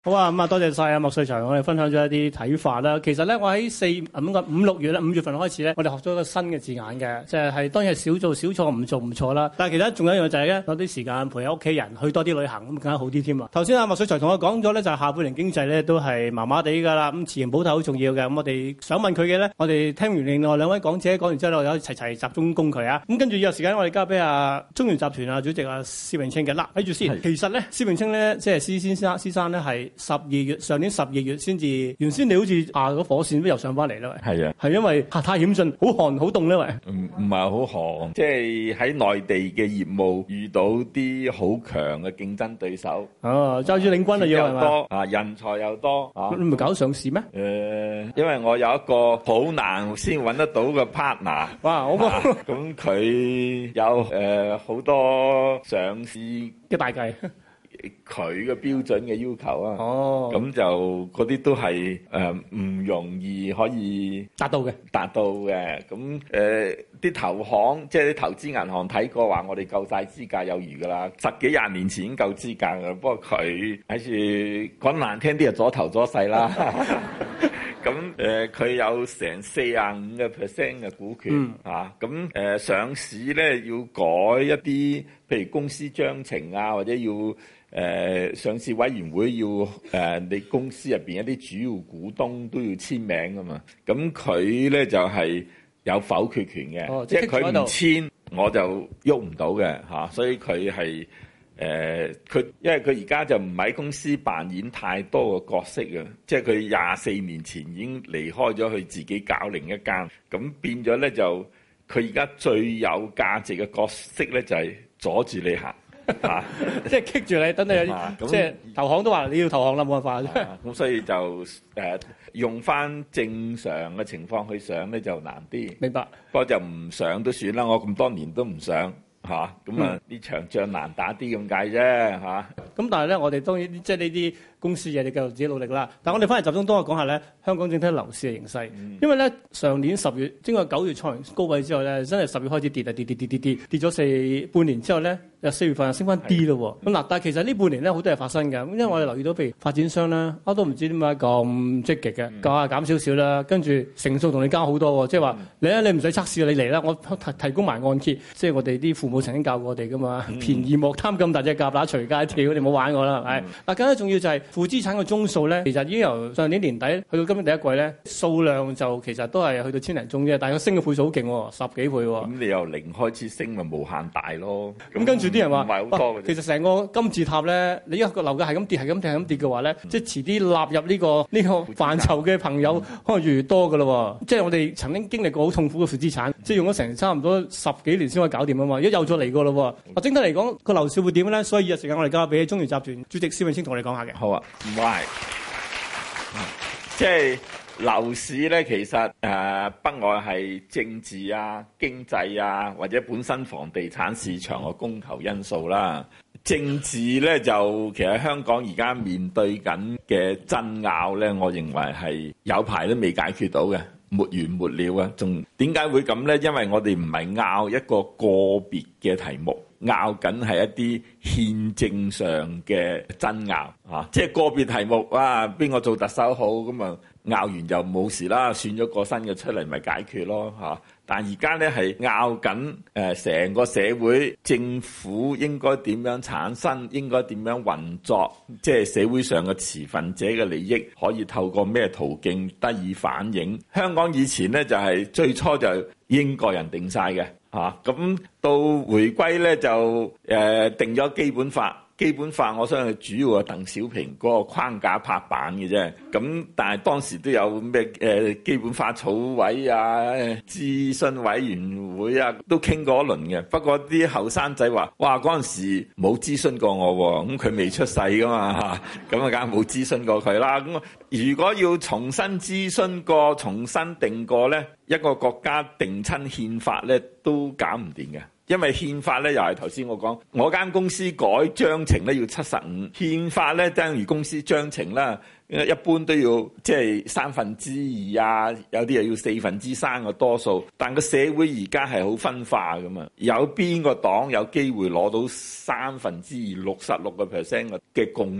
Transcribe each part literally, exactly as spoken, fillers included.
好啊，咁啊，多謝晒啊麥萃才，我哋分享咗一啲睇法啦。其實咧，我喺四咁個五六月咧，五月份開始咧，我哋學咗一個新嘅字眼嘅，即係係當然係少做少錯，唔做唔錯啦。但係其實仲有一樣就係咧，攞啲時間陪下屋企人，去多啲旅行咁更加好啲添啊。頭先阿麥萃才同我講咗咧，就係下半年經濟咧都係麻麻地㗎啦。咁持盈保泰好重要嘅。咁我哋想問佢嘅咧，我哋聽完另外兩位講者講完之後，我有齊齊集中攻佢啊。咁跟住有時間我哋交俾阿中原集團啊主席阿施永青嘅啦。睇住先，其實咧施永青咧即係施先生，施生咧係十二月。上年十二月先至，原先你好似下個火線都又上翻嚟啦，喂。係啊，係因為太險峻，好寒好凍咧，喂。唔唔係好寒，即係喺內地嘅業務遇到啲好強嘅競爭對手。哦，揸住領軍啊要係嘛？多啊，人才又多啊。你唔係搞上市咩？誒、呃，因為我有一個好難先揾得到嘅 partner。哇，我個咁佢有誒好、呃、多上市嘅大計。佢嘅標準嘅要求啊，咁、oh. 就嗰啲都係誒唔容易可以達到嘅，達到嘅。咁誒啲投行即係啲投資銀行睇過話，我哋夠晒資格有餘噶啦，十幾廿年前已經夠資格噶。不過佢喺住講難聽啲就左頭左勢啦。咁誒佢有成四十五個 percent 嘅股權、嗯、啊，咁誒、呃、上市咧要改一啲，譬如公司章程啊，或者要誒、呃、上市委員會要誒、呃、你公司入邊一啲主要股東都要簽名噶嘛，咁佢咧就係、是、有否決權嘅、哦，即係佢唔簽我就喐唔到嘅嚇，所以佢係。誒、呃，佢因為佢而家就唔喺公司扮演太多嘅角色啊，即係佢廿四年前已經離開咗，佢自己搞另一間，咁變咗咧就佢而家最有價值嘅角色咧就係、是、阻住你行嚇，即係棘住你，等你有啲即係投行都話你要投行啦，冇辦法。咁、啊、所以就誒、呃、用翻正常嘅情況去上咧就難啲。明白。不過就唔上都算啦，我咁多年都唔上。嚇，咁啊呢場仗難打啲咁解啫嚇。咁但係咧，我哋當然即係呢啲公司嘢，你繼續自己努力啦。但係我哋翻嚟集中多講下咧，香港整體樓市嘅形勢。嗯、因為咧上年十月經過九月創完高位之後咧，真係十月開始跌啊跌跌跌跌跌跌咗四半年之後咧，又四月份又升翻啲咯喎。咁嗱，但係其實呢半年咧好多嘢發生嘅。咁因為我哋留意到，譬如發展商咧，我都唔知點解咁積極嘅，價減少少啦，跟住成數同你加好多喎。即係話你咧，你唔使測試你嚟啦，我提提供埋按揭。即係我哋啲父母曾經教過我哋噶嘛，嗯、便宜莫貪咁大隻蛤乸隨街跳，你唔好玩我啦，係咪？嗱，更加重要就係負資產嘅宗數咧，其實已經由上年年底去到今年第一季咧，數量就其實都係去到千零宗啫，但係佢升嘅倍數好勁喎，十幾倍喎。咁你由零開始升咪無限大咯？咁跟住啲人話，唔係好多嘅。其實成個金字塔咧，你一個樓價係咁跌，係咁跌，係咁跌嘅話咧，即係遲啲納入呢、這個呢、這個範疇嘅朋友可能越嚟越多㗎咯喎。即係我哋曾經經歷過好痛苦嘅負資產，即係用咗成差唔多十幾年先可以搞掂啊嘛，而家又再嚟過咯喎。啊，整體嚟講個樓市會點咧？所以有時間我哋交俾中原集團主席施永青同我哋講下嘅。好啊，唔係，即係樓市咧，其實誒、呃、不外係政治啊、經濟啊，或者本身房地產市場嘅供求因素啦。政治咧就其實香港而家面對緊嘅爭拗咧，我認為係有排都未解決到嘅。沒完沒了啊！仲點解會咁咧？因為我哋唔係拗一個個別嘅題目，拗緊係一啲憲政上嘅爭拗啊！即係個別題目啊，邊個做特首好咁啊？拗完就冇事啦，選咗個新嘅出嚟咪解決咯嚇。但而家咧係拗緊誒成個社會政府應該點樣產生，應該點樣運作，即係社會上嘅持份者嘅利益可以透過咩途徑得以反映。香港以前咧就係最初就英國人定晒嘅嚇，咁到回歸咧就誒定咗基本法。基本法我相信主要係鄧小平嗰個框架拍板嘅啫，咁但係當時都有咩誒基本法草委啊、諮詢委員會啊，都傾過一輪嘅。不過啲後生仔話：哇，嗰陣時冇諮詢過我喎，咁佢未出世噶嘛嚇，咁啊梗係冇諮詢過佢啦。咁如果要重新諮詢過、重新定過咧，一個國家定親憲法咧都搞唔掂嘅。因為憲法咧又係頭先我講，我間公司改章程咧要七十五，憲法咧等於公司章程啦，一般都要即係三分之二啊，有啲又要四分之三嘅多數。但個社會而家係好分化㗎嘛，有邊個黨有機會攞到三分之二六十六個 percent 嘅共識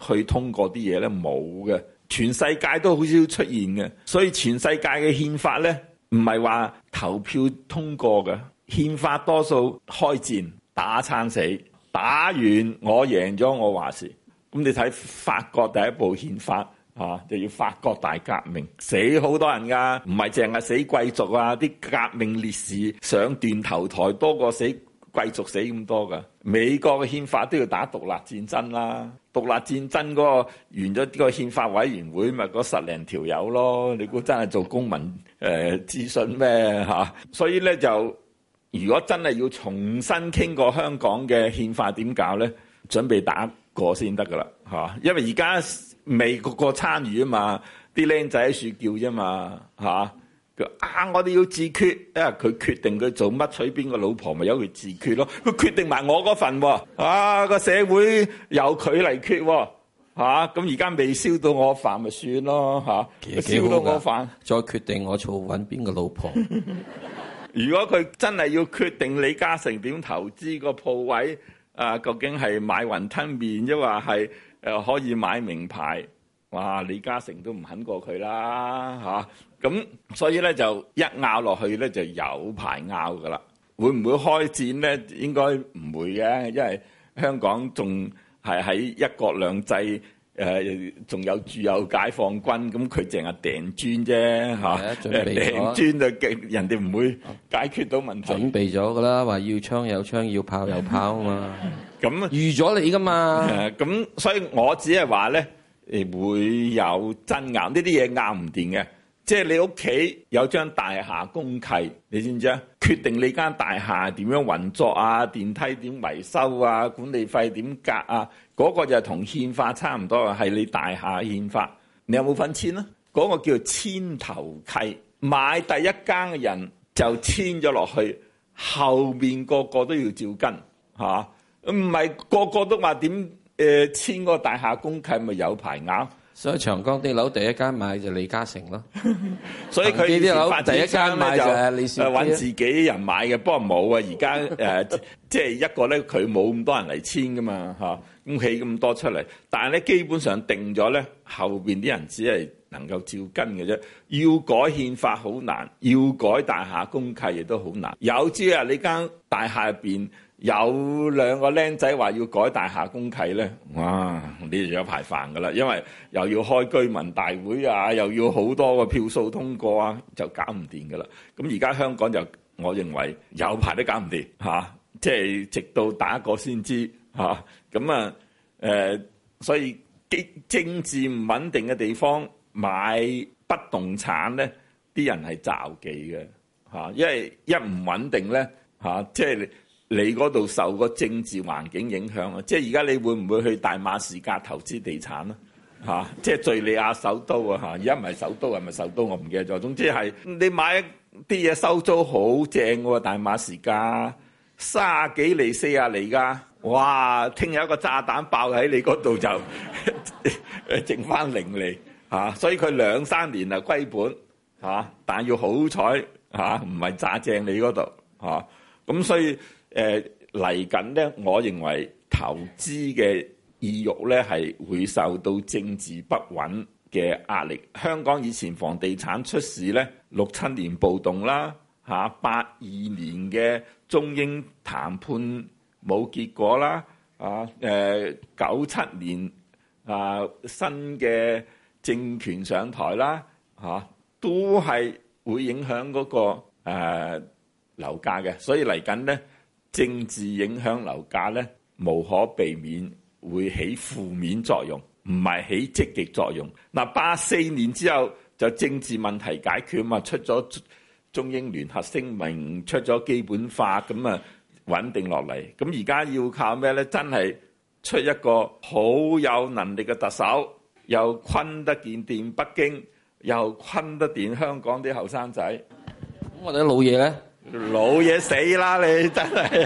去通過啲嘢咧？冇嘅，全世界都好少出現嘅。所以全世界嘅憲法咧，唔係話投票通過嘅，憲法多數開戰打撐死，打完我贏咗我話事。咁你睇法國第一部憲法啊，就要法國大革命，死好多人㗎，唔係淨係死貴族啊，啲革命烈士上斷頭台多過死貴族死咁多㗎。美國嘅憲法都要打獨立戰爭啦，獨立戰爭嗰個完咗個憲法委員會咪嗰十零條友咯，你估真係做公民誒諮詢咩嚇？所以咧就如果真係要重新傾過香港嘅憲法點搞咧，準備打過先得㗎啦嚇，因為而家未個個參與啊嘛，啲僆仔喺處叫啫嘛嚇。啊！我哋要自決，因為佢決定佢做乜娶邊個老婆，咪由佢自決咯。佢決定埋我嗰份喎，啊個社會由佢嚟決喎，嚇咁而家未燒到我飯咪算咯嚇，燒到我飯再決定我做揾邊個老婆。 如果佢真係要決定李嘉誠點投資個鋪位，啊究竟係買雲吞麵，抑或係誒可以買名牌？哇！李嘉誠都唔肯過佢啦嚇，咁、啊、所以咧就一拗落去咧就有排拗噶啦。會唔會開戰咧？應該唔會嘅，因為香港仲係喺一國兩制，誒仲有駐有解放軍，咁佢淨係掟磚啫嚇，掟磚就勁，人哋唔會解決到問題。 準備咗噶啦，話要槍有槍，要炮有炮啊嘛。 咁預咗你噶嘛。 咁所以我只係話咧。誒會有爭拗，呢啲嘢拗唔掂嘅。即係你屋企有張大廈公契，你知唔知啊？決定你間大廈點樣運作啊，電梯點維修啊，管理費點格啊，嗰個就係同憲法差唔多啊，係你大廈憲法。你有冇份簽啊？嗰個叫做簽頭契，買第一間嘅人就簽咗落去，後面個個都要照跟嚇，唔係個個都話點？誒簽個大廈公契咪有排拗， 所以長江啲樓第一間買就李嘉誠咯。 所以佢啲樓第一間買就係李兆基， 揾自己人買嘅。不過冇啊，而家誒即係一個咧，佢冇咁多人嚟簽噶嘛嚇，咁起咁多出嚟。但係咧基本上定咗咧，後邊啲人只係能夠照跟嘅啫。要改憲法好難，要改大廈公契亦都好難。有朝啊，你間大廈入邊有兩個僆仔話要改大廈公契咧，哇！你就有排煩噶啦，因為又要開居民大會啊，又要好多個票數通過啊，就搞唔掂噶啦。咁而家香港就我認為有排都搞唔掂嚇，即係直到打過先知嚇。咁啊誒，所以政治唔穩定嘅地方買不動產咧，啲人係詐忌嘅嚇，因為一唔穩定咧嚇，即係。你嗰度受個政治環境影響啊！即係而家你會唔會去大馬士革投資地產啊？嚇！即係敘利亞首都啊！嚇！而家唔係首都係咪首都？我唔記得咗。總之係你買啲嘢收租好正喎，大馬士革卅幾厘、四十厘㗎。哇！聽日一個炸彈爆喺你嗰度就誒剩翻零厘嚇，所以佢兩三年啊歸本嚇，但係要好彩嚇，唔係炸正你嗰度嚇。咁所以誒嚟緊咧，我認為投資嘅意欲咧係會受到政治不穩嘅壓力。香港以前房地產出事咧，六七年暴動啦，嚇八二年嘅中英談判冇結果啦，啊誒九七年啊新嘅政權上台啦，嚇都係會影響嗰個誒樓價嘅，所以嚟緊咧政治影響樓價咧，無可避免會起負面作用，唔係起積極作用。嗱，八四年之後就政治問題解決嘛，出咗中英聯合聲明，出咗基本法，咁啊穩定落嚟。咁而家要靠咩咧？真係出一個好有能力嘅特首，又昆得掂掂北京，又昆得掂香港啲後生仔。 咁我哋啲老嘢咧？ 老嘢死啦！你真係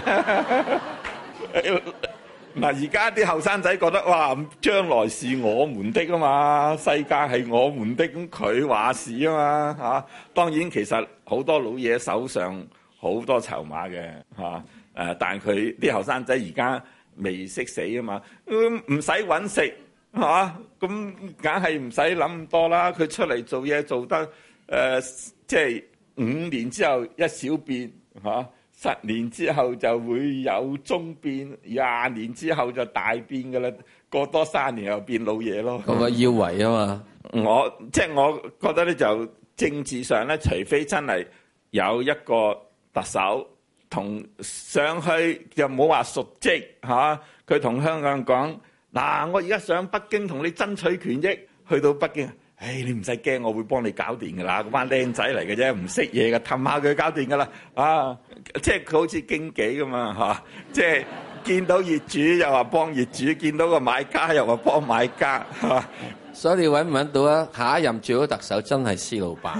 嗱，而家啲後生仔覺得哇，將來是我們的啊嘛，世界係我們的，咁佢話事啊嘛嚇。當然其實好多老嘢手上好多籌碼嘅嚇，誒，但係佢啲後生仔而家未識死啊嘛，唔使揾食嚇，咁梗係唔使諗咁多啦。佢出嚟做嘢做得誒、呃，即係五年之後一小變嚇、啊，十年之後就會有中變，廿年之後就大變㗎啦。過多三年又變老嘢咯。 嗰個腰圍啊嘛， 我即係我覺得咧，就政治上咧，除非真係有一個特首同上去，又冇話述職嚇，佢同香港人講嗱，我而家上北京同你爭取權益，去到北京，唉，你唔使驚，我會幫你搞掂㗎啦，嗰班僆仔嚟嘅啫，唔識嘢嘅，氹下佢搞掂㗎啦，啊，即係佢好似經紀㗎嘛嚇，即係。見到業主又話幫業主，見到個買家又話幫買家，係嘛？ 所以你揾唔揾到啊？下一任最好特首真係施老闆，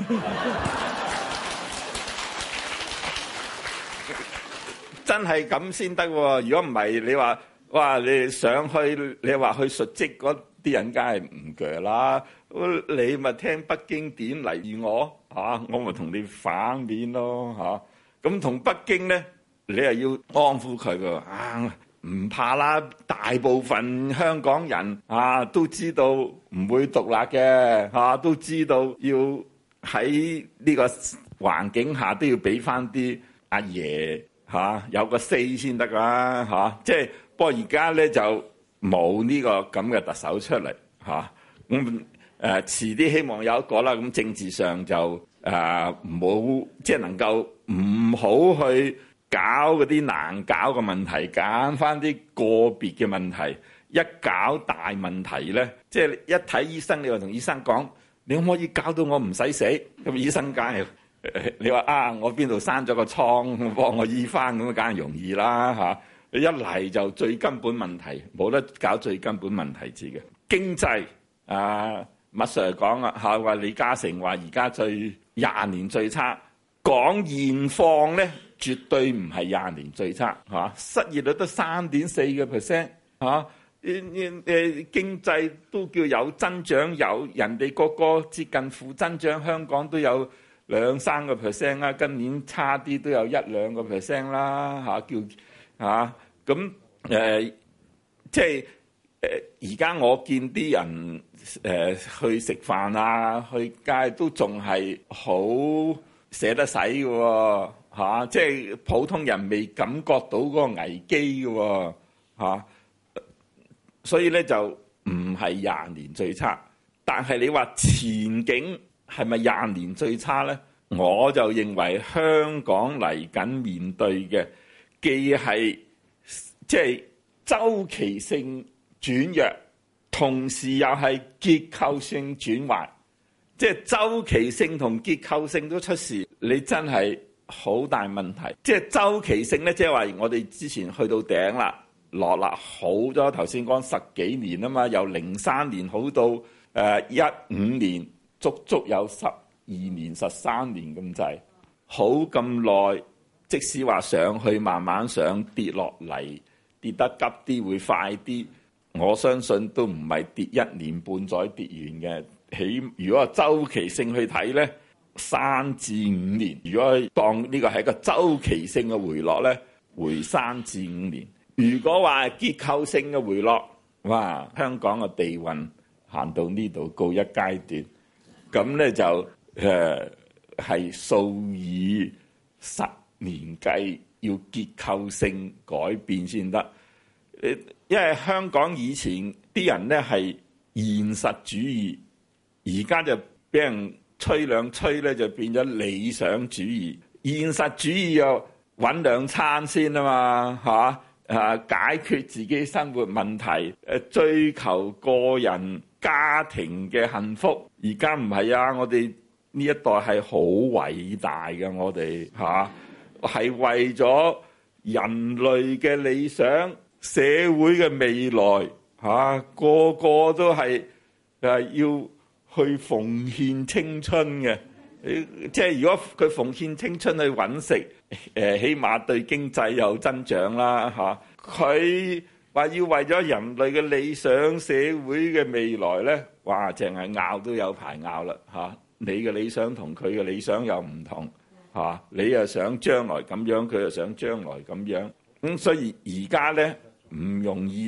真係咁先得喎！如果唔係，你話哇，你上去你話去述職嗰啲人，梗係唔鋸啦。你咪聽北京點嚟我嚇，我咪同你反面咯嚇。咁同北京咧？你又要安撫佢㗎啊！唔怕啦，大部分香港人啊都知道唔會獨立嘅嚇、啊，都知道要喺呢個環境下都要俾翻啲阿爺嚇、啊、有個 say 先得啦嚇。即係不過而家咧就冇呢個咁嘅特首出嚟嚇。咁誒遲啲希望有一個啦。咁政治上就誒冇即係能夠唔好去搞嗰啲難搞嘅問題，揀翻啲個別嘅問題。一搞大問題咧，即係一睇醫生，你話同醫生講，你可唔可以搞到我唔使死？咁醫生梗係你話啊，我邊度生咗個瘡，幫我醫翻，咁梗係容易啦嚇。你一嚟就最根本問題，冇得搞最根本問題字嘅經濟啊。麥 Sir 講啊嚇，話李嘉誠話而家最廿年最差，講現況咧。絕對唔係廿年最差嚇，失業率得三點四個 percent 嚇，誒誒經濟都叫有增長，有人哋個個接近負增長，香港都有兩三個 percent 啦，今年差啲都有一兩個 percent 啦嚇，叫嚇咁誒，即係誒而家我見啲人誒、呃、去食飯啊，去街都仲係好捨得使嘅喎。嚇、啊！即係普通人未感覺到嗰個危機嘅喎、啊，所以咧就唔係廿年最差。但係你話前景係咪廿年最差咧？我就認為香港嚟緊面對嘅既係即係週期性轉弱，同時又係結構性轉壞。即係週期性同結構性都出事，你真係〜好大問題，即係週期性咧，即係話我哋之前去到頂啦，落啦好咗。頭先講十幾年啊嘛，由零三年好到誒一五年，足足有十二年、十三年咁滯，好咁耐。即使話上去慢慢上，跌落嚟跌得急啲會快啲，我相信都唔係跌一年半載跌完嘅。起如果話週期性去睇咧，三至五年，如果當呢個係一個週期性嘅回落咧，回三至五年。如果話結構性嘅回落，哇！香港嘅地運行到呢度告一階段，咁咧就誒係、呃、數以十年計，要結構性改變先得。誒，因為香港以前啲人咧係現實主義，而家就俾人吹兩吹咧，就變咗理想主義。現實主義又揾兩餐先啊嘛，嚇啊，解決自己生活問題，誒追求個人家庭嘅幸福。而家唔係啊，我哋呢一代係好偉大嘅，我哋嚇係為咗人類嘅理想、社會嘅未來嚇，個個都係誒要去奉獻青春嘅，即係如果佢奉獻青春去揾食，誒起碼對經濟有增長啦嚇。佢話要為咗人類嘅理想、社會嘅未來咧，哇！淨係拗都有排拗啦嚇。你嘅理想同佢嘅理想又唔同嚇，你又想將來咁樣，佢又想將來咁樣，咁所以而家咧唔容易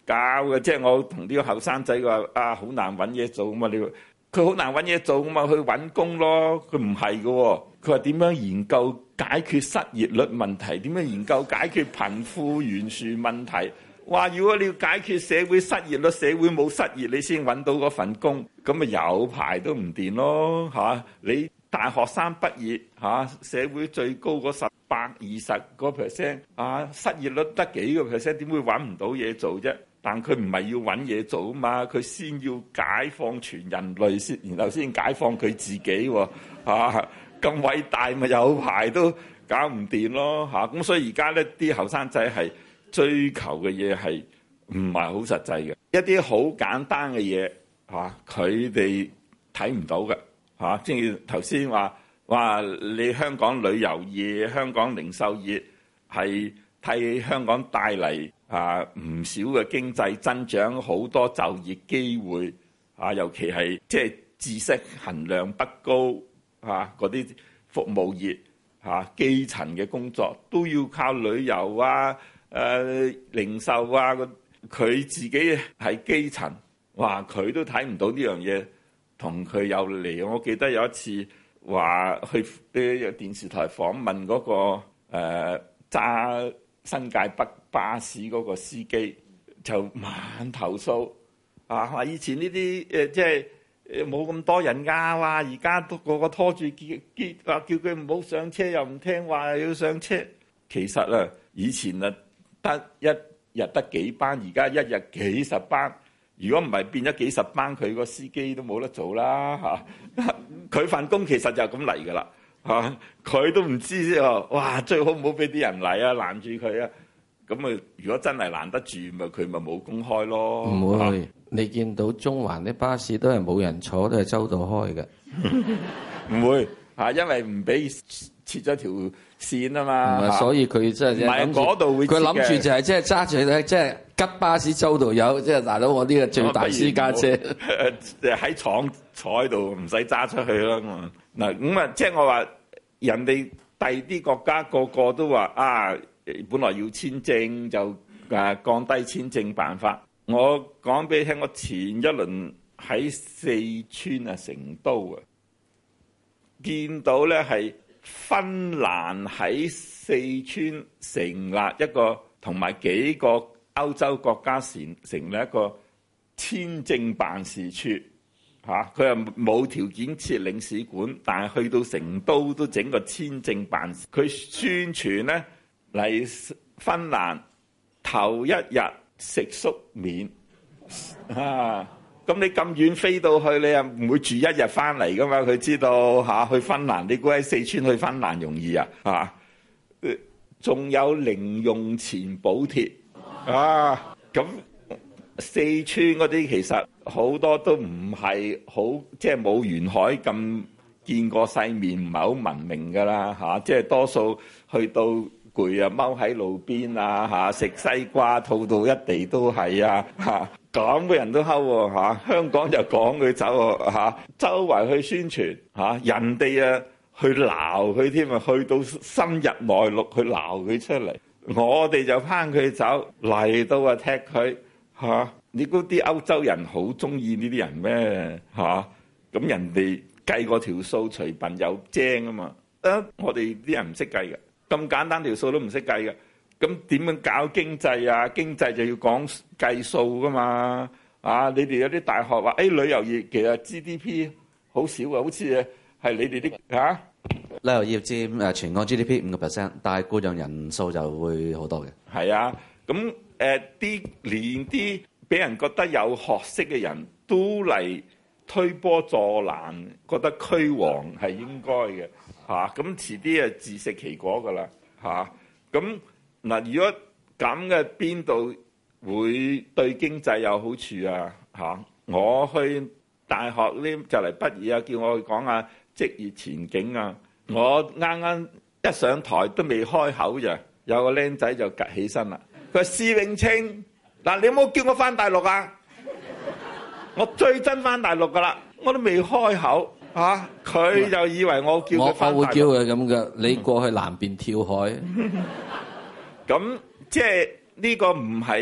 教嘅，即係我同啲後生仔話啊，好難揾嘢做啊嘛！你佢好難揾嘢做啊嘛，去揾工咯。佢唔係嘅，佢話點樣研究解決失業率問題？點樣研究解決貧富懸殊問題？話如果你要解決社會失業率，社會冇失業，你先揾到嗰份工，咁咪有排都唔掂咯嚇！你大學生畢業嚇，社會最高嗰十百二十個 percent 啊，失業率得幾個 percent， 點會揾唔到嘢做啫？但佢唔係要揾嘢做啊嘛，佢先要解放全人類先，然後先解放佢自己喎嚇！咁偉大咪有排都搞唔掂咯嚇！咁所以而家咧啲後生仔係追求嘅嘢係唔係好實際嘅，一啲好簡單嘅嘢嚇，佢哋睇唔到嘅嚇。正如頭先話話，你香港旅遊業、香港零售業係替香港帶嚟啊唔少嘅經濟增長，好多就業機會啊，尤其係即係知識含量不高嚇嗰啲服務業嚇，基層嘅工作都要靠旅遊啊。誒、呃、零售啊，佢自己係基層，哇！佢都睇唔到呢樣嘢，同佢有嚟。我記得有一次話去啲電視台訪問嗰、那個誒揸、呃、新界北巴士嗰個司機，就猛投訴啊！話以前呢啲誒即係冇咁多人㗎，哇！而家都個個拖住叫叫話叫佢唔好上車，又唔聽話，又要上車。其實啊，以前啊〜得一日得幾班，而家一日幾十班。如果唔係變咗幾十班，佢個司機都冇得做啦嚇。佢份工其實就咁嚟㗎啦嚇，佢都唔知喎。哇，最好唔好俾啲人嚟啊，攔住佢啊。咁啊，如果真係攔得住，咪佢咪冇公開咯。 唔會，你見到中環啲巴士都係冇人坐，都係周到開嘅。 唔會嚇，因為唔俾切咗條線啊嘛， 唔係，所以佢真係唔係嗰度會， 佢諗住就係即係揸住咧，即係吉巴士周度有，即係大佬我呢個最大私家車， 誒喺廠坐喺度唔使揸出去啦嘛。嗱咁啊，即係我話人哋第啲國家個個都話啊，本來要簽證就誒降低簽證辦法。我講俾你聽，我前一輪喺四川啊成都啊，見到咧係。芬蘭喺四川成立一個，同埋幾個歐洲國家成成立一個簽證辦事處嚇，佢又冇條件設領事館，但係去到成都都整個簽證辦事。佢宣傳咧嚟芬蘭頭一日食宿免啊！咁你咁遠飛到去，你又唔會住一日翻嚟噶嘛？佢知道嚇、啊、去芬蘭，你估喺四川去芬蘭容易啊？嚇，仲有零用錢補貼啊！咁四川嗰啲其實好多都唔係好，即係冇沿海咁見過世面，唔係好文明噶啦嚇。即係多數去到攰啊，踎喺路邊啊嚇，食西瓜，吐到一地都係啊嚇。咁嘅人都睺喎嚇，香港就趕佢走喎嚇，周圍去宣傳嚇，人哋啊去鬧佢添啊，去到深入內陸去鬧佢出嚟，我哋就拚佢走嚟到啊踢佢嚇。你估啲歐洲人好中意呢啲人咩嚇？咁人哋計個條數，除笨有精啊嘛。啊，我哋啲人唔識計嘅，咁簡單條數都唔識計嘅。咁點樣搞經濟啊？經濟就要講計數噶嘛？啊！你哋有啲大學話，誒、哎、旅遊業其實 G D P 好少啊，好似係你哋啲嚇。 旅遊業佔誒全港 G D P 五個 percent，但係僱用人數就會好多嘅。 係啊，咁誒啲連啲俾人覺得有學識嘅人都嚟推波助瀾，覺得驅王係應該嘅嚇。咁遲啲啊自食其果噶啦嚇。咁嗱，如果咁嘅邊度會對經濟有好處啊？嚇！我去大學呢就嚟畢業啊，叫我去講下職業前景啊。我啱啱一上台都未開口咋，有個僆仔就趌起身啦。佢話：施永青，嗱，你有冇叫我翻大陸啊？我最憎翻大陸噶啦，我都未開口嚇，佢、啊、就以為我叫佢翻大陸。 我我會叫佢咁嘅，你過去南邊跳海。 咁即係呢個唔係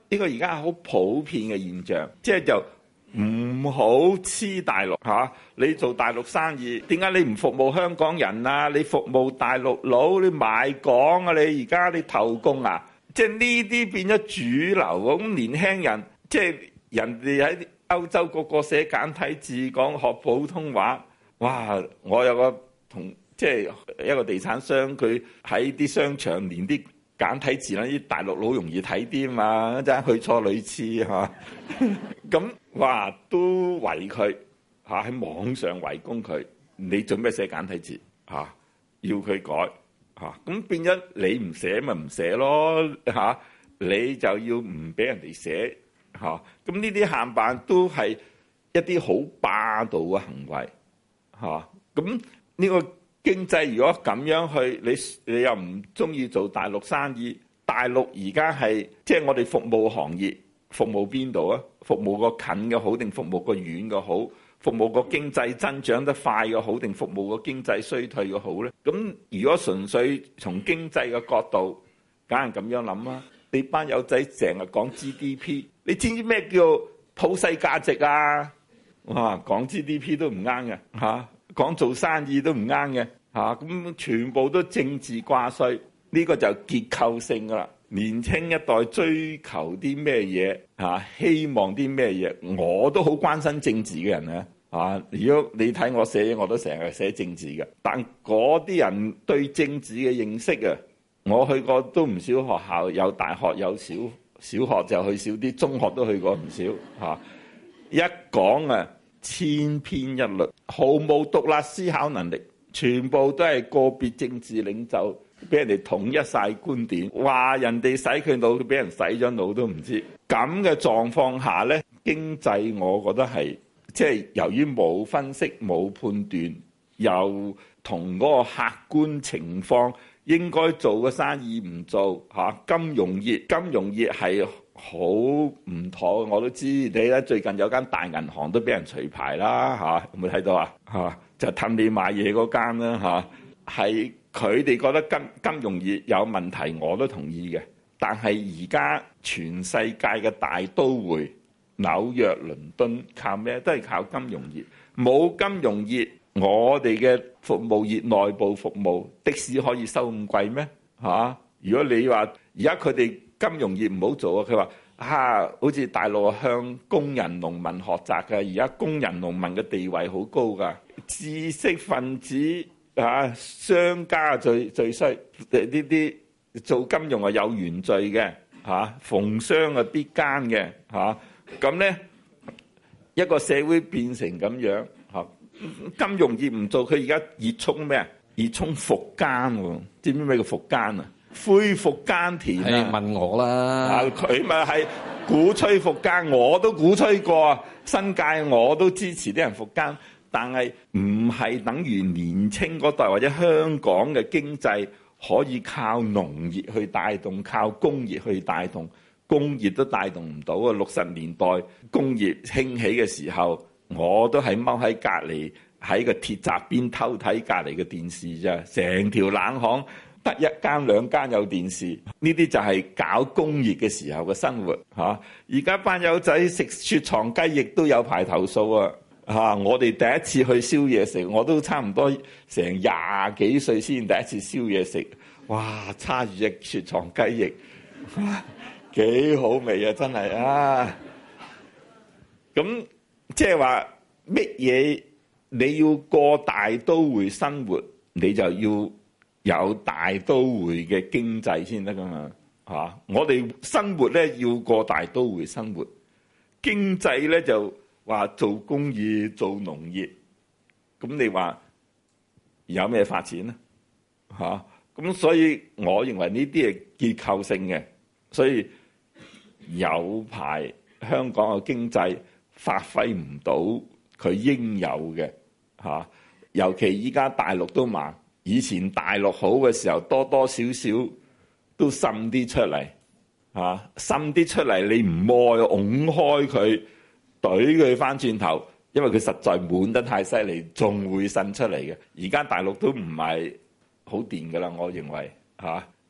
呢個而家係好普遍嘅現象，即係就唔好黐大陸嚇、啊。你做大陸生意，點解你唔服務香港人啊？你服務大陸佬，你買港啊？你而家你投共啊？即係呢啲變咗主流喎。咁年輕人即係人哋喺歐洲個個寫簡體字，講學普通話。哇！我有個同即係一個地產商，佢喺啲商場連啲簡體字啦，啲大陸佬容易睇啲嘛，真係去錯女廁嚇。咁哇都圍佢嚇，喺網上圍攻佢。你做咩寫簡體字嚇？要佢改嚇，咁變咗你唔寫咪唔寫咯嚇，你就要唔俾人哋寫嚇。咁呢啲限辦都係一啲好霸道嘅行為。嚇，咁呢個經濟如果咁樣去，你你又唔中意做大陸生意？大陸而家係即係我哋服務行業，服務邊度啊？服務個近嘅好定服務個遠嘅好？服務個經濟增長得快嘅好定服務個經濟衰退嘅好咧？咁如果純粹從經濟嘅角度，梗係咁樣諗啦。你班友仔成日講 G D P， 你知唔知咩叫普世價值啊？哇！講 G D P 都唔啱嘅嚇，講做生意都唔啱嘅嚇，咁全部都政治掛帥，呢個就結構性噶啦。年青一代追求啲咩嘢嚇，希望啲咩嘢，我都好關心政治嘅人啊嚇。如果你睇我寫嘢，我都成日寫政治嘅，但嗰啲人對政治嘅認識啊，我去過都唔少學校，有大學有小小學就去少啲，中學都去過唔少嚇。一講啊〜千篇一律，毫無獨立思考能力，全部都係個別政治領袖俾人哋統一晒觀點，話人哋洗佢腦，佢俾人洗咗腦都唔知。咁嘅狀況下呢，經濟我覺得係即係由於冇分析冇判斷，又同嗰個客觀情況應該做嘅生意唔做嚇。金融業金融業係好唔妥，我都知你咧。最近有間大銀行都俾人除牌啦嚇，有冇睇到啊？嚇就氹你買嘢嗰間啦嚇，係佢哋覺得金金融業有問題，我都同意嘅。但係而家全世界嘅大都會紐約、倫敦靠咩？都係靠金融業。冇金融業，我哋嘅服務業內部服務的士可以收咁貴咩？嚇！如果你話而家佢哋金融業唔好做啊！佢話啊，好似大陸向工人農民學習嘅，而家工人農民嘅地位好高㗎，知識分子啊，商家最最衰，呢啲做金融係有原罪嘅嚇，逢商啊必奸嘅嚇，咁咧一個社會變成咁樣嚇，金融業唔做，佢而家熱衷咩啊？熱衷復耕喎，知唔知咩叫復耕啊？恢復耕田啊！ 問我啦， 佢咪係鼓吹復耕，我都鼓吹過新界，我都支持啲人復耕，但係唔係等於年青嗰代或者香港嘅經濟可以靠農業去帶動，靠工業去帶動，工業都帶動唔到啊！六十年代工業興起嘅時候，我都係踎喺隔離喺個鐵閘邊偷睇隔離嘅電視啫，成條冷巷。得一間兩間有電視，呢啲就係搞工業嘅時候嘅生活嚇。而家班友仔食雪藏雞翼都有排投訴啊嚇！我哋第一次去燒嘢食，我都差唔多成廿幾歲先第一次燒嘢食，哇！叉住隻雪藏雞翼，幾好味啊！真係啊！咁即係話乜嘢？你要過大都會生活，你就要有大都會嘅經濟先得噶嘛嚇！我哋生活咧要過大都會生活，經濟咧就話做工業、做農業，咁你話有咩發展咧嚇？咁所以我認為呢啲係結構性嘅，所以有排香港嘅經濟發揮唔到佢應有嘅嚇，尤其依家大陸都慢。以前大陸好嘅時候，多多少少都滲啲出嚟，嚇滲啲出嚟，你唔愛，拱開佢，懟佢翻轉頭，因為佢實在滿得太犀利，仲會滲出嚟嘅。而家大陸都唔係好掂噶啦，我認為嚇，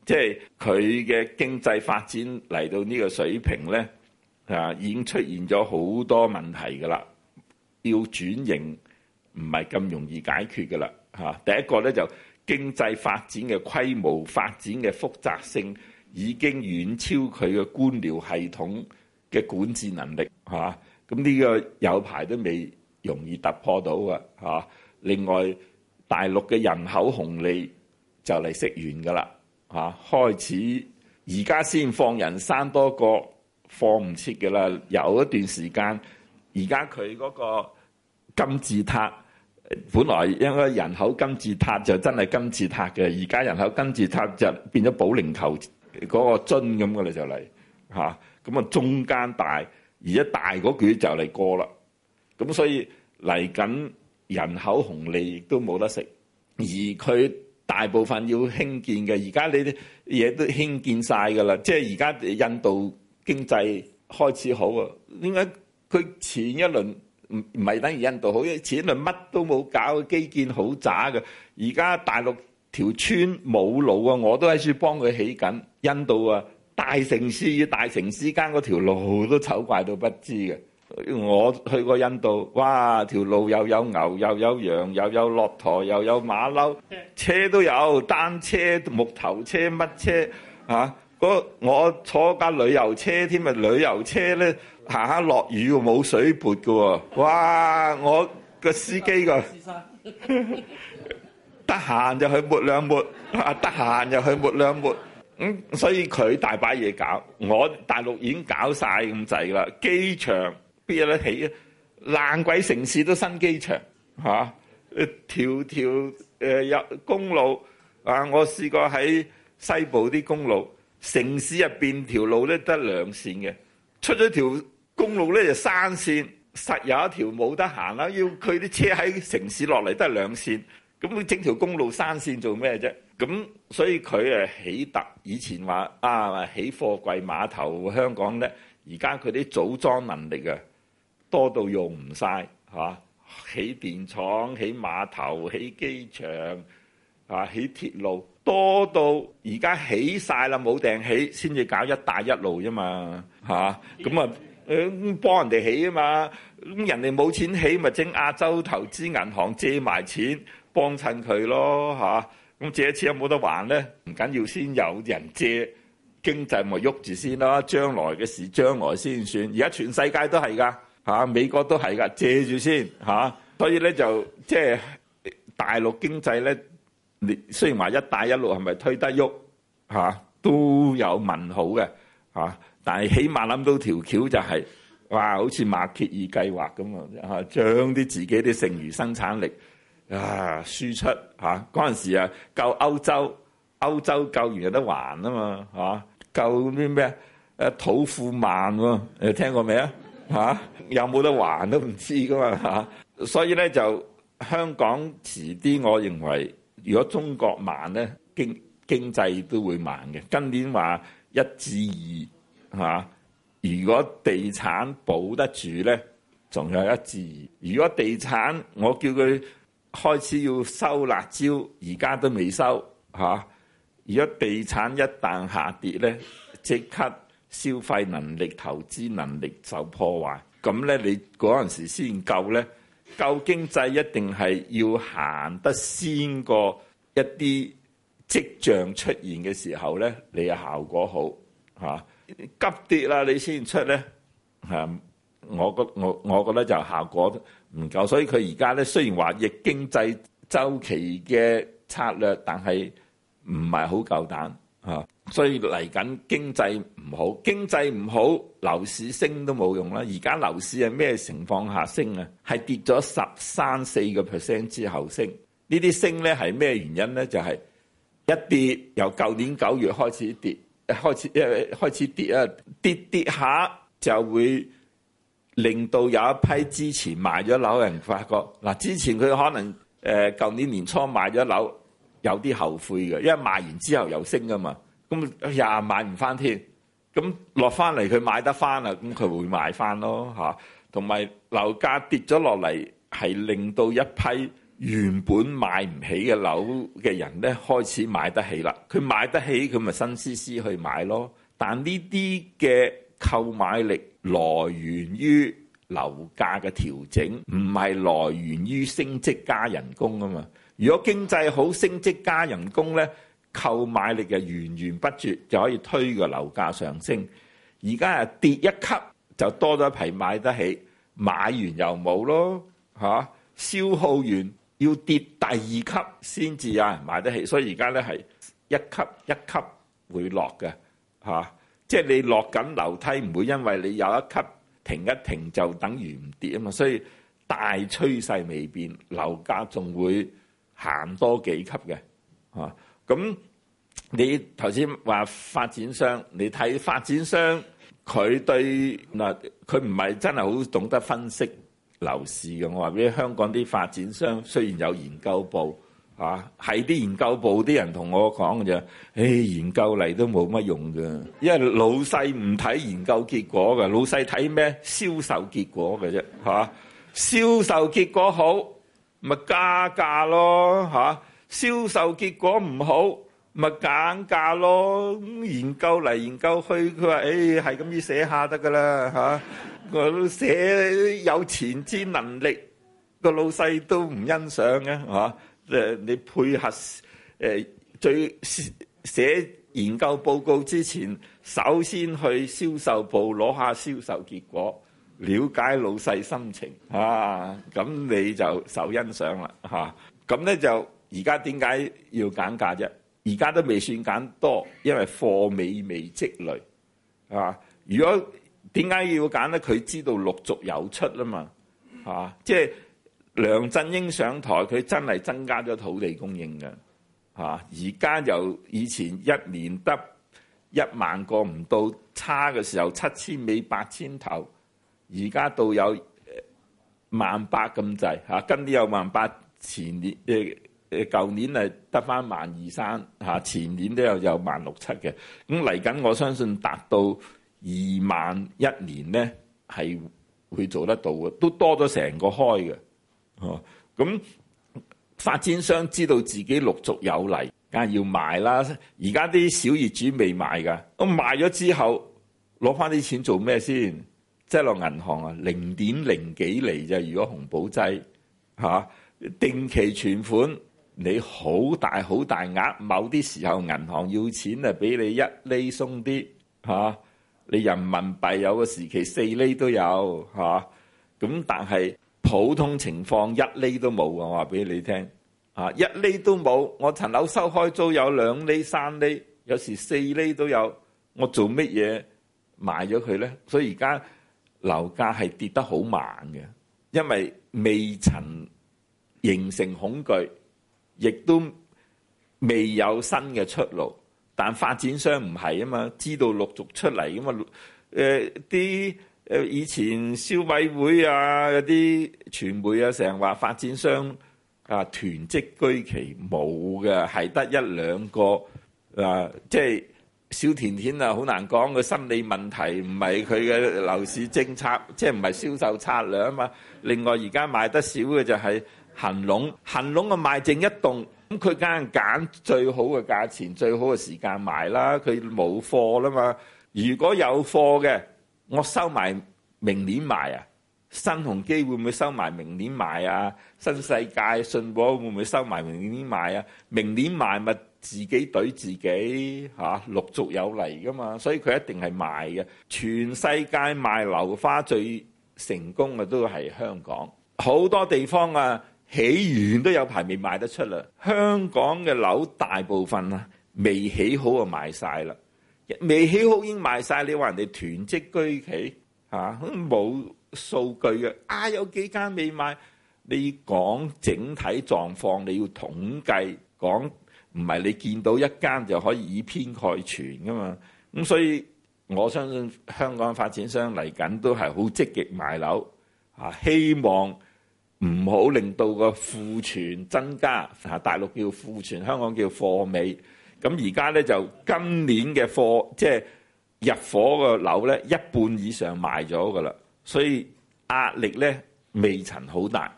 即係佢嘅經濟發展嚟到呢個水平咧，啊已經出現咗好多問題㗎啦，要轉型唔係咁容易解決㗎啦嚇。第一個咧就經濟發展嘅規模、發展嘅複雜性已經遠超佢嘅官僚系統嘅管治能力嚇。咁呢個有排都未容易突破到啊嚇。另外大陸嘅人口紅利就嚟食完㗎啦嚇，開始而家先放人生多個，放唔切㗎啦。有一段時間，而家佢嗰個金字塔，本來應該人口金字塔就真係金字塔嘅，而家人口金字塔就變咗保齡球嗰個樽咁㗎啦，就嚟嚇。咁啊中間大，而家大嗰橛就嚟過啦。咁所以嚟緊人口紅利亦都冇得食，而佢大部分要興建嘅，而家你啲嘢都興建晒㗎啦。即係而家印度經濟開始好啊，點解佢前一輪唔唔係等於印度好？因為前一輪乜都冇搞，基建好渣嘅。而家大陸條村冇路啊，我都喺處幫佢起緊。印度啊，大城市與大城市間嗰條路都醜怪到不知嘅。我去過印度，哇！條路又有牛又有羊又有駱駝又有馬騮，車都有，單車、木頭車乜車啊？嗰我坐架旅遊車添啊！旅遊車咧行下落雨喎，冇水撥㗎喎，哇！我個司機個得閒就去抹兩抹，啊得閒就去抹兩抹。咁、嗯、所以佢大把嘢搞，我大陸已經搞晒咁滯啦。機場邊有得起啊？爛鬼城市都新機場嚇，誒條條誒有公路啊！我試過喺西部啲公路，城市入邊條路咧得兩線嘅，出咗條公路咧就三線，實有一條冇得行啦。要佢啲車喺城市落嚟得兩線，咁佢整條公路三線做咩啫？咁所以佢誒起特以前話啊起貨櫃碼頭香港咧，而家佢啲組裝能力啊多到用唔晒嚇，起電廠、起碼頭、起機場啊、起鐵路多到而家起晒啦，冇埞起先至搞一帶一路啫嘛嚇，咁啊誒幫人哋起啊嘛，咁人哋冇錢起咪整亞洲投資銀行借埋錢幫襯佢咯嚇。咁借一次有冇得還咧？唔緊要，先有人借，經濟咪喐住先啦。將來嘅事將來先算。而家全世界都係㗎嚇，美國都係㗎，借住先嚇。所以咧就即係大陸經濟咧，你雖然話一帶一路係咪推得喐嚇，都有問號嘅嚇。但係起碼諗到條橋就係哇，好似馬歇爾計劃咁啊，將啲自己啲剩餘生產力。啊！輸出嚇嗰陣時啊，救歐洲，歐洲救完有得還啊嘛嚇，救啲咩誒土庫曼喎？你聽過未啊嚇？有冇得還都唔知噶嘛嚇，所以咧就香港遲啲，我認為如果中國慢咧，經經濟都會慢嘅。今年話一至二嚇，如果地產保得住咧，仲有一至二。如果地產我叫佢開始要收辣椒，而家都未收嚇。如果地產一旦下跌咧，即刻消費能力、投資能力受破壞，咁咧你嗰陣時先救咧。救經濟一定係要行得先過一啲跡象出現嘅時候咧，你嘅效果好嚇。急跌啦，你先出咧嚇。我覺我我覺得就效果唔夠，所以佢而家咧雖然話逆經濟週期嘅策略，但係唔係好夠膽嚇。所以嚟緊經濟唔好，經濟唔好，樓市升都冇用啦。而家樓市係咩情況下升啊？係跌咗十三四個 percent 之後升。呢啲升咧係咩原因咧？就係、是、一跌由舊年九月開始跌，開始誒開始跌啊，跌跌下就會令到有一批之前賣咗樓嘅人發覺嗱，之前佢可能誒舊年年初賣咗樓有啲後悔嘅，因為賣完之後又升噶嘛，咁又買唔翻添，咁落翻嚟佢買得翻啦，咁佢會買翻咯嚇。同埋樓價跌咗落嚟係令到一批原本買唔起嘅樓嘅人咧，開始買得起啦。佢買得起，佢咪新思思去買咯。但呢啲嘅購買力來源於樓價嘅調整，唔係來源於升職加人工啊嘛。如果經濟好，升職加人工咧，購買力就源源不絕，就可以推個樓價上升。而家係跌一級就多咗一批買得起，買完又冇咯嚇，消耗完要跌第二級先至有人買得起。所以而家咧係一級一級會落嘅嚇，即係你落緊樓梯，唔會因為你有一級停一停就等於唔跌啊嘛。所以大趨勢未變，樓價仲會行多幾級嘅嚇。咁你頭先話發展商，你睇發展商佢對嗱，佢唔係真係好懂得分析樓市嘅。我話俾你，香港啲發展商雖然有研究部嚇，係啲研究部啲人同我講嘅啫。誒，研究嚟都冇乜用嘅，因為老細唔睇研究結果嘅，老細睇咩？銷售結果嘅啫嚇。銷售結果好，咪加價咯嚇。銷售結果唔好，咪減價咯。研究嚟研究去，佢話誒係咁要寫下得噶啦嚇。我都寫有前瞻能力，個老細都唔欣賞嘅嚇。誒你配合誒最寫研究報告之前，首先去銷售部攞下銷售結果，了解老細心情啊，咁你就受欣賞啦嚇。咁咧就而家點解要減價啫？而家都未算減多，因為貨尾未積累啊。如果點解要減咧？佢知道陸續有出啦嘛啊，即係梁振英上台，佢真係增加咗土地供應嘅啊。而家由以前一年得一萬個唔到，差嘅時候七千尾八千頭，而家到有萬八咁滯嚇。今年有萬八，前年誒誒舊年係得翻萬二三嚇，前年都有有萬六七嘅。咁嚟緊，我相信達到二萬一年咧，係會做得到嘅，都多咗成個開嘅。哦，咁發展商知道自己陸續有嚟，梗係要賣啦。而家啲小業主未賣㗎，咁賣咗之後攞翻啲錢做咩先？即係落銀行啊，零點零幾厘啫。如果紅寶濟嚇定期存款，你好大好大額，某啲時候銀行要錢啊，俾你一厘鬆啲嚇。你人民幣有個時期四厘都有嚇，咁但係普通情況一厘都冇啊！我話俾你聽啊，一厘都冇。我層樓收開租有兩厘、三厘，有時四厘都有。我做乜嘢賣咗佢咧？所以而家樓價係跌得好慢嘅，因為未曾形成恐懼，亦都未有新嘅出路。但發展商唔係啊嘛，知道陸續出嚟噶嘛。誒啲誒以前消委會啊，有啲傳媒啊，成日話發展商啊囤積居奇，冇嘅，係得一兩個啊。即係小甜甜啊，好難講個心理問題，唔係佢嘅樓市政策，即係唔係銷售策略啊嘛。另外而家賣得少嘅就係恆隆，恆隆啊賣剩一棟。咁佢梗係揀最好嘅價錢、最好嘅時間賣啦。佢冇貨啦嘛。如果有貨嘅，我收埋明年賣啊。新鴻基會唔會收埋明年賣啊？新世界、信和會唔會收埋明年賣啊？明年賣咪自己懟自己嚇、啊，陸續有嚟噶嘛。所以佢一定係賣嘅。全世界賣樓花最成功嘅都係香港，好多地方啊。起完都有排未賣得出啦。香港嘅樓大部分啊未起好就賣晒啦，未起好已經賣晒。你話人哋囤積居奇嚇，冇數據嘅啊，有幾間未賣。你講整體狀況，你要統計講，唔係你見到一間就可以以偏概全噶嘛。咁所以我相信香港發展商嚟緊都係好積極賣樓啊，希望唔好令到個庫存增加，大陸叫庫存，香港叫貨尾。咁而家咧就今年嘅貨，即係入伙個樓咧，一半以上賣咗噶啦，所以壓力咧未曾好大。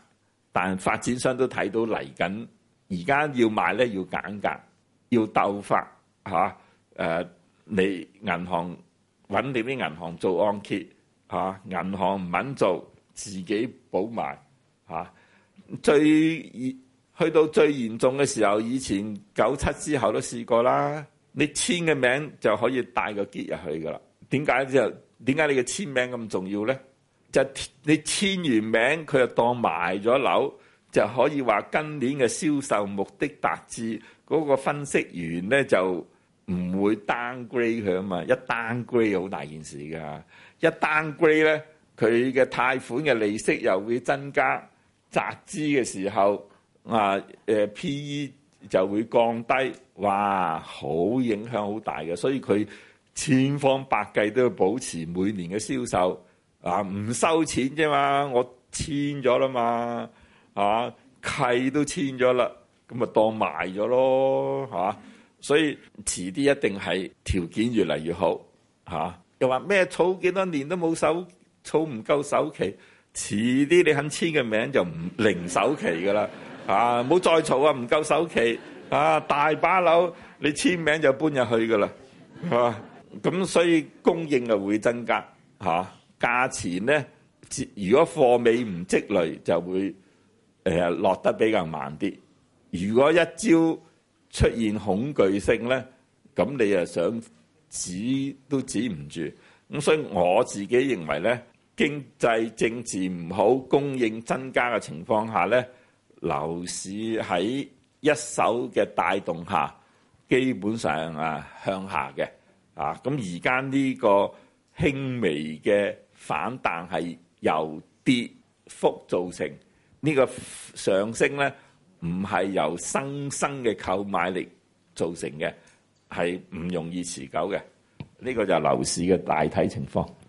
但發展商都睇到嚟緊，而家要賣咧要減價，要鬥法嚇。誒、啊，你銀行揾你啲銀行做按揭嚇，銀、啊、行唔肯做，自己補埋嚇。最去到最嚴重嘅時候，以前九七之後都試過啦。你簽嘅名就可以帶個喼入去噶啦。點解就點解你嘅簽名咁重要咧？就你簽完名，佢就當賣咗樓，就可以話今年嘅銷售目的達至。嗰個分析員咧就唔會 downgrade 佢啊嘛，一 downgrade 好大件事㗎。一 downgrade 咧，佢嘅貸款嘅利息又會增加，集資嘅時候啊，誒 P E 就會降低，哇，好影響好大嘅。所以佢千方百計都要保持每年嘅銷售啊，唔收錢啫嘛，我簽咗啦嘛，啊契都簽咗啦，咁咪當賣咗咯嚇。所以遲啲一定係條件越嚟越好嚇。又話咩儲幾多年都冇首儲唔夠首期，遲啲你肯簽嘅名就唔零首期噶啦嚇，唔好再儲啊，唔夠首期啊，大把樓你簽名就搬入去噶啦嚇。咁所以供應就會增加嚇，價錢咧如果貨尾唔積累就會誒落得比較慢啲。如果一朝出現恐懼性咧，咁你又想止都止唔住。咁所以我自己認為咧，經濟政治唔好，供應增加嘅情況下咧，樓市喺一手嘅帶動下，基本上啊向下嘅啊。咁而家呢個輕微嘅反彈係由跌幅造成，呢個上升咧，唔係由新生嘅購買力造成嘅，係唔容易持久嘅。呢個就係樓市嘅大體情況。